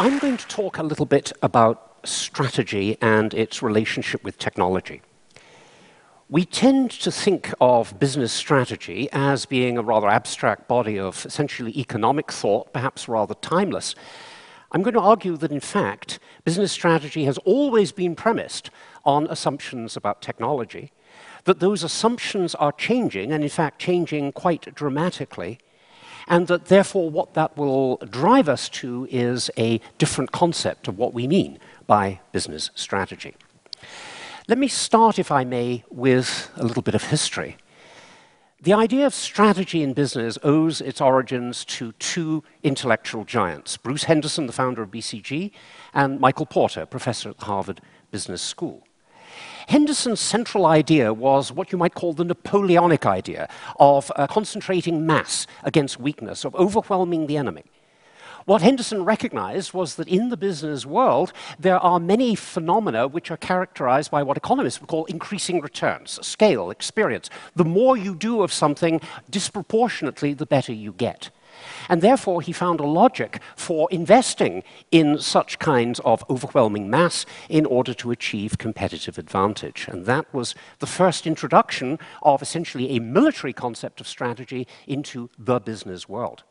I'm going to talk a little bit about strategy and its relationship with technology. We tend to think of business strategy as being a rather abstract body of essentially economic thought, perhaps rather timeless. I'm going to argue that, in fact, business strategy has always been premised on assumptions about technology, that those assumptions are changing, and in fact changing quite dramatically, and that therefore what that will drive us to is a different concept of what we mean by business strategy. Let me start, if I may, with a little bit of history. The idea of strategy in business owes its origins to two intellectual giants, Bruce Henderson, the founder of BCG, and Michael Porter, professor at the Harvard Business School. Henderson's central idea was what you might call the Napoleonic idea of concentrating mass against weakness, of overwhelming the enemy. What Henderson recognized was that in the business world, there are many phenomena which are characterized by what economists would call increasing returns, scale, experience. The more you do of something, disproportionately, the better you get. And therefore, he found a logic for investing in such kinds of overwhelming mass in order to achieve competitive advantage. And that was the first introduction of essentially a military concept of strategy into the business world.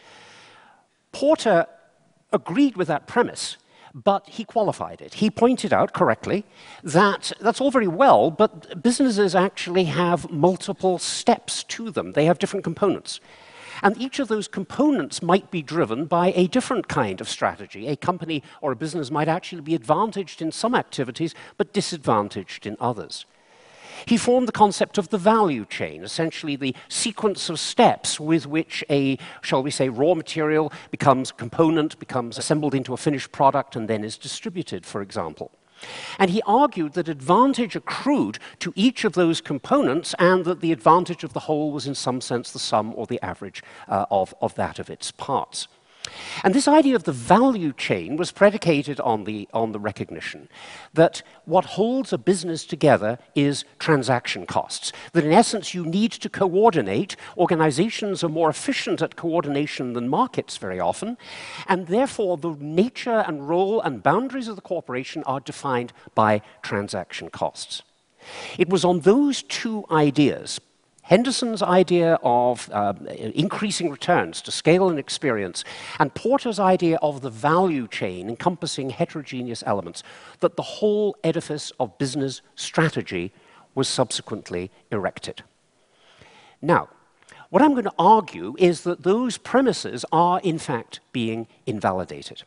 Porter agreed with that premise, but he qualified it. He pointed out correctly that that's all very well, but businesses actually have multiple steps to them. They have different components. And each of those components might be driven by a different kind of strategy. A company or a business might actually be advantaged in some activities, but disadvantaged in others. He formed the concept of the value chain, essentially the sequence of steps with which a, shall we say, raw material becomes a component, becomes assembled into a finished product, and then is distributed, for example. And he argued that advantage accrued to each of those components and that the advantage of the whole was in some sense the sum or the average of that of its parts. And this idea of the value chain was predicated on the recognition that what holds a business together is transaction costs. That in essence you need to coordinate. Organizations are more efficient at coordination than markets very often, and therefore the nature and role and boundaries of the corporation are defined by transaction costs. It was on those two ideas, Henderson's idea of increasing returns to scale and experience, and Porter's idea of the value chain encompassing heterogeneous elements, that the whole edifice of business strategy was subsequently erected. Now, what I'm going to argue is that those premises are in fact being invalidated.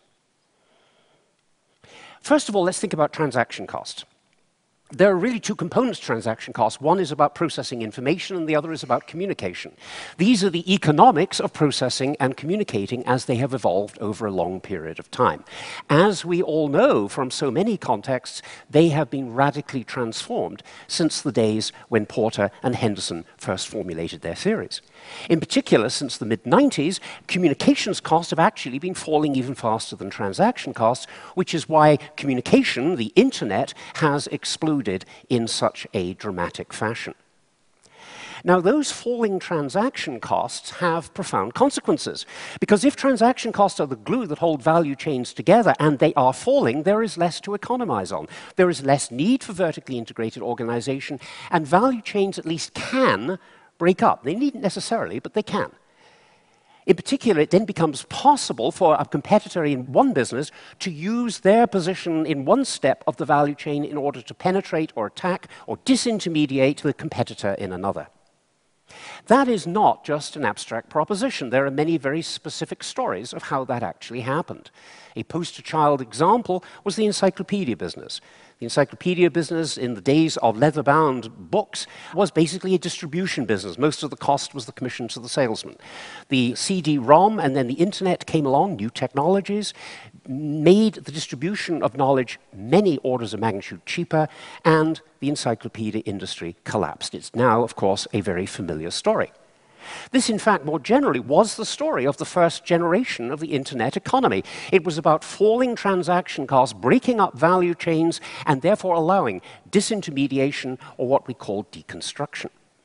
First of all, let's think about transaction costs. There are really two components to transaction costs. One is about processing information, and the other is about communication. These are the economics of processing and communicating as they have evolved over a long period of time. As we all know from so many contexts, they have been radically transformed since the days when Porter and Henderson first formulated their theories. In particular, since the mid-90s, communications costs have actually been falling even faster than transaction costs, which is why communication, the internet, has exploded in such a dramatic fashion. Now, those falling transaction costs have profound consequences, because if transaction costs are the glue that hold value chains together and they are falling, there is less to economize on. There is less need for vertically integrated organization, and value chains at least can break up. They needn't necessarily, but they can. In particular, it then becomes possible for a competitor in one business to use their position in one step of the value chain in order to penetrate or attack or disintermediate the competitor in another. That is not just an abstract proposition. There are many very specific stories of how that actually happened. A poster child example was the encyclopedia business. The encyclopedia business in the days of leather-bound books was basically a distribution business. Most of the cost was the commission to the salesman. The CD-ROM and then the internet came along, new technologies, made the distribution of knowledge many orders of magnitude cheaper, and the encyclopedia industry collapsed. It's now, of course, a very familiar story. This, in fact, more generally, was the story of the first generation of the internet economy. It was about falling transaction costs, breaking up value chains, and therefore allowing disintermediation, or what we call deconstruction.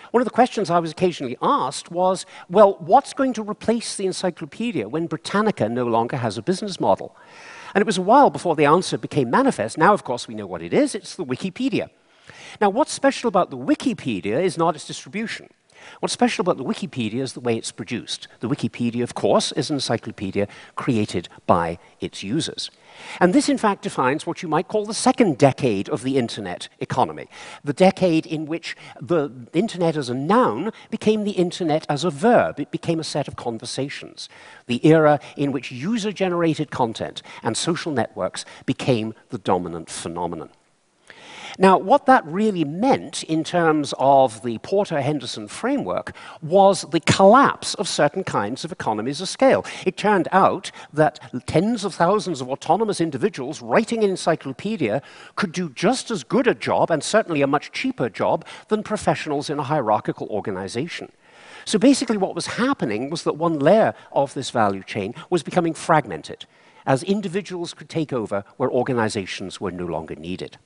One of the questions I was occasionally asked was, well, what's going to replace the encyclopedia when Britannica no longer has a business model? And it was a while before the answer became manifest. Now, of course, we know what it is. It's the Wikipedia. Now, what's special about the Wikipedia is not its distribution. What's special about the Wikipedia is the way it's produced. The Wikipedia, of course, is an encyclopedia created by its users. And this, in fact, defines what you might call the second decade of the internet economy, the decade in which the internet as a noun became the internet as a verb. It became a set of conversations, the era in which user-generated content and social networks became the dominant phenomenon. Now, what that really meant in terms of the Porter-Henderson framework was the collapse of certain kinds of economies of scale. It turned out that tens of thousands of autonomous individuals writing an encyclopedia could do just as good a job, and certainly a much cheaper job, than professionals in a hierarchical organization. So basically what was happening was that one layer of this value chain was becoming fragmented, as individuals could take over where organizations were no longer needed.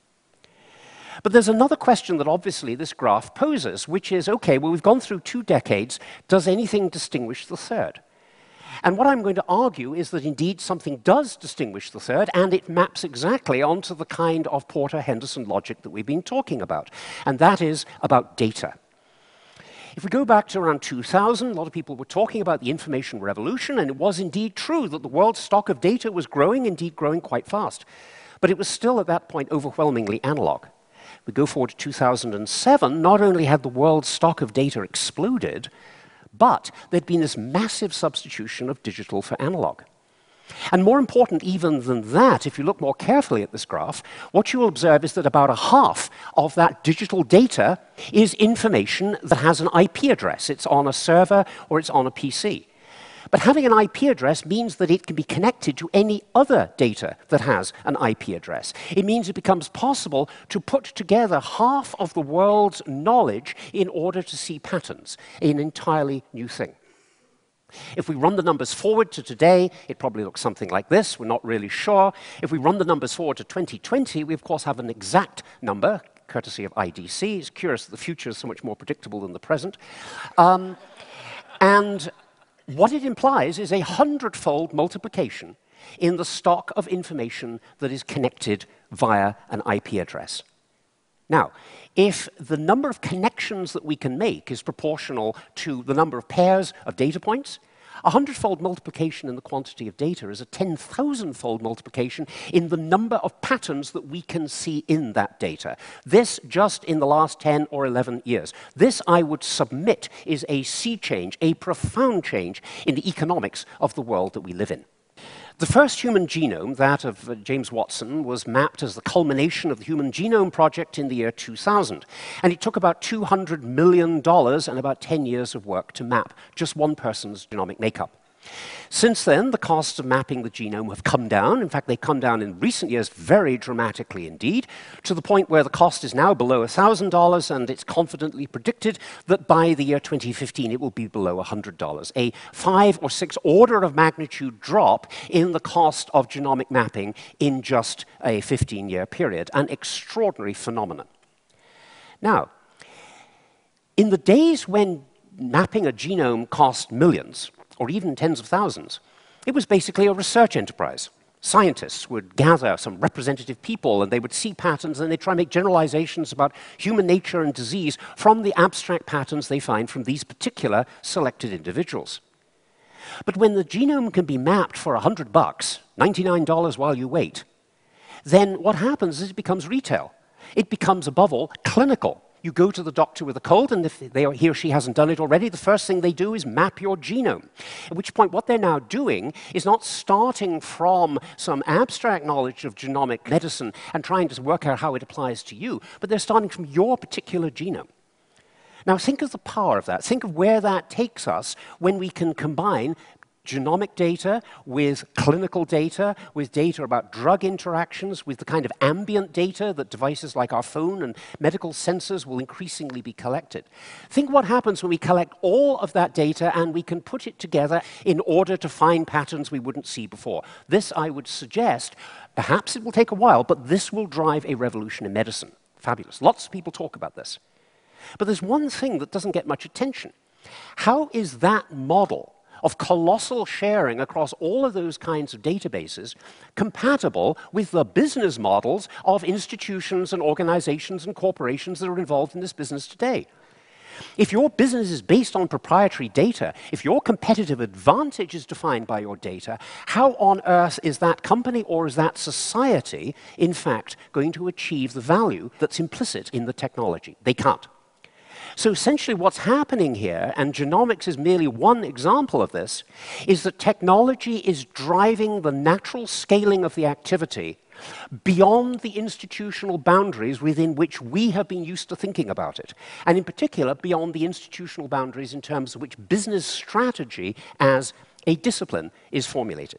But there's another question that obviously this graph poses, which is, okay, well, we've gone through 2 decades. Does anything distinguish the third? And what I'm going to argue is that indeed something does distinguish the third, and it maps exactly onto the kind of Porter-Henderson logic that we've been talking about, and that is about data. If we go back to around 2000, a lot of people were talking about the information revolution, and it was indeed true that the world's stock of data was growing, indeed growing quite fast. But it was still at that point overwhelmingly analog. We go forward to 2007, not only had the world's stock of data exploded, but there'd been this massive substitution of digital for analog. And more important even than that, if you look more carefully at this graph, what you will observe is that about a half of that digital data is information that has an IP address. It's on a server or it's on a PC. But having an IP address means that it can be connected to any other data that has an IP address. It means it becomes possible to put together half of the world's knowledge in order to see patterns, an entirely new thing. If we run the numbers forward to today, it probably looks something like this. We're not really sure. If we run the numbers forward to 2020, we of course have an exact number, courtesy of IDC. It's curious that the future is so much more predictable than the present. And what it implies is a 100-fold multiplication in the stock of information that is connected via an IP address. Now, if the number of connections that we can make is proportional to the number of pairs of data points, a 100-fold multiplication in the quantity of data is a 10,000-fold multiplication in the number of patterns that we can see in that data. This just in the last 10 or 11 years. This, I would submit, is a sea change, a profound change in the economics of the world that we live in. The first human genome, that of James Watson, was mapped as the culmination of the Human Genome Project in the year 2000. And it took about $200 million and about 10 years of work to map just one person's genomic makeup. Since then, the costs of mapping the genome have come down. In fact, they've come down in recent years very dramatically indeed, to the point where the cost is now below $1,000, and it's confidently predicted that by the year 2015 it will be below $100, a 5 or 6 order of magnitude drop in the cost of genomic mapping in just a 15-year period, an extraordinary phenomenon. Now, in the days when mapping a genome cost millions, or even tens of thousands, it was basically a research enterprise. Scientists would gather some representative people and they would see patterns and they'd try and make generalizations about human nature and disease from the abstract patterns they find from these particular selected individuals. But when the genome can be mapped for $100, $99 while you wait, then what happens is it becomes retail. It becomes, above all, clinical. You go to the doctor with a cold, and if he or she hasn't done it already, the first thing they do is map your genome. At which point, what they're now doing is not starting from some abstract knowledge of genomic medicine and trying to work out how it applies to you, but they're starting from your particular genome. Now, think of the power of that. Think of where that takes us when we can combine genomic data with clinical data, with data about drug interactions, with the kind of ambient data that devices like our phone and medical sensors will increasingly be collected. Think what happens when we collect all of that data and we can put it together in order to find patterns we wouldn't see before. This, I would suggest, perhaps it will take a while, but this will drive a revolution in medicine. Fabulous. Lots of people talk about this. But there's one thing that doesn't get much attention. How is that model of colossal sharing across all of those kinds of databases compatible with the business models of institutions and organizations and corporations that are involved in this business today? If your business is based on proprietary data, if your competitive advantage is defined by your data, how on earth is that company or is that society, in fact, going to achieve the value that's implicit in the technology? They can't. So essentially what's happening here, and genomics is merely one example of this, is that technology is driving the natural scaling of the activity beyond the institutional boundaries within which we have been used to thinking about it, and in particular beyond the institutional boundaries in terms of which business strategy as a discipline is formulated.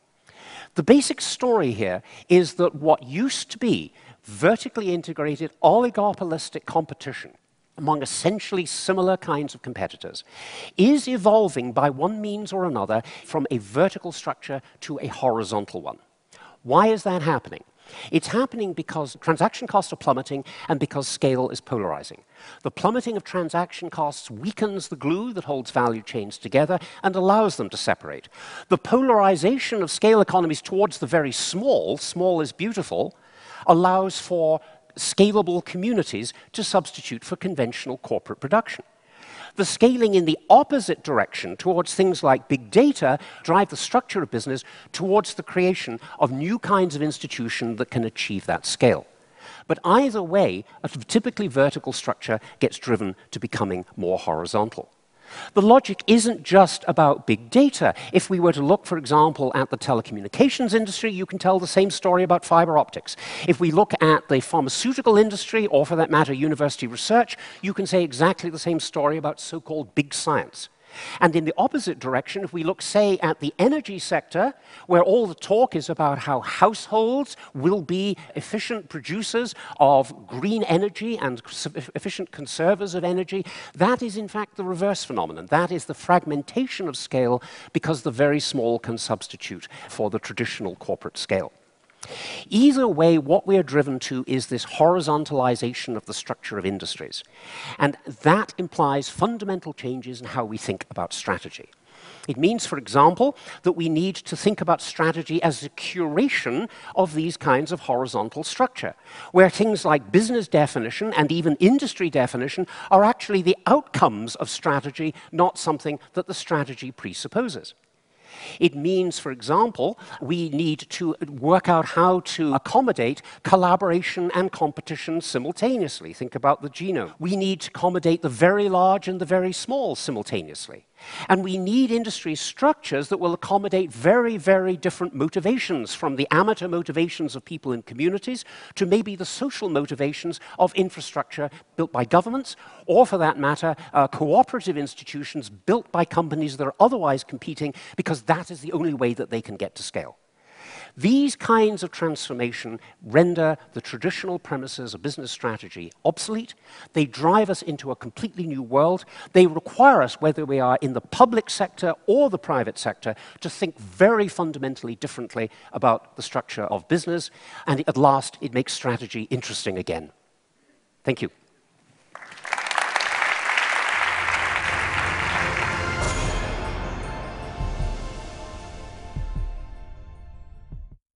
The basic story here is that what used to be vertically integrated oligopolistic competition among essentially similar kinds of competitors is evolving by one means or another from a vertical structure to a horizontal one. Why is that happening? It's happening because transaction costs are plummeting and because scale is polarizing. The plummeting of transaction costs weakens the glue that holds value chains together and allows them to separate. The polarization of scale economies towards the very small, small is beautiful, allows for scalable communities to substitute for conventional corporate production. The scaling in the opposite direction towards things like big data drive the structure of business towards the creation of new kinds of institution that can achieve that scale. But either way, a typically vertical structure gets driven to becoming more horizontal. The logic isn't just about big data. If we were to look, for example, at the telecommunications industry, you can tell the same story about fiber optics. If we look at the pharmaceutical industry, or for that matter, university research, you can say exactly the same story about so-called big science. And in the opposite direction, if we look, say, at the energy sector, where all the talk is about how households will be efficient producers of green energy and efficient conservers of energy, that is in fact the reverse phenomenon. That is the fragmentation of scale because the very small can substitute for the traditional corporate scale. Either way, what we are driven to is this horizontalization of the structure of industries. And that implies fundamental changes in how we think about strategy. It means, for example, that we need to think about strategy as a curation of these kinds of horizontal structure, where things like business definition and even industry definition are actually the outcomes of strategy, not something that the strategy presupposes. It means, for example, we need to work out how to accommodate collaboration and competition simultaneously. Think about the genome. We need to accommodate the very large and the very small simultaneously. And we need industry structures that will accommodate very, very different motivations, from the amateur motivations of people in communities to maybe the social motivations of infrastructure built by governments, or for that matter, cooperative institutions built by companies that are otherwise competing, because that is the only way that they can get to scale. These kinds of transformation render the traditional premises of business strategy obsolete. They drive us into a completely new world. They require us, whether we are in the public sector or the private sector, to think very fundamentally differently about the structure of business. And at last, it makes strategy interesting again. Thank you.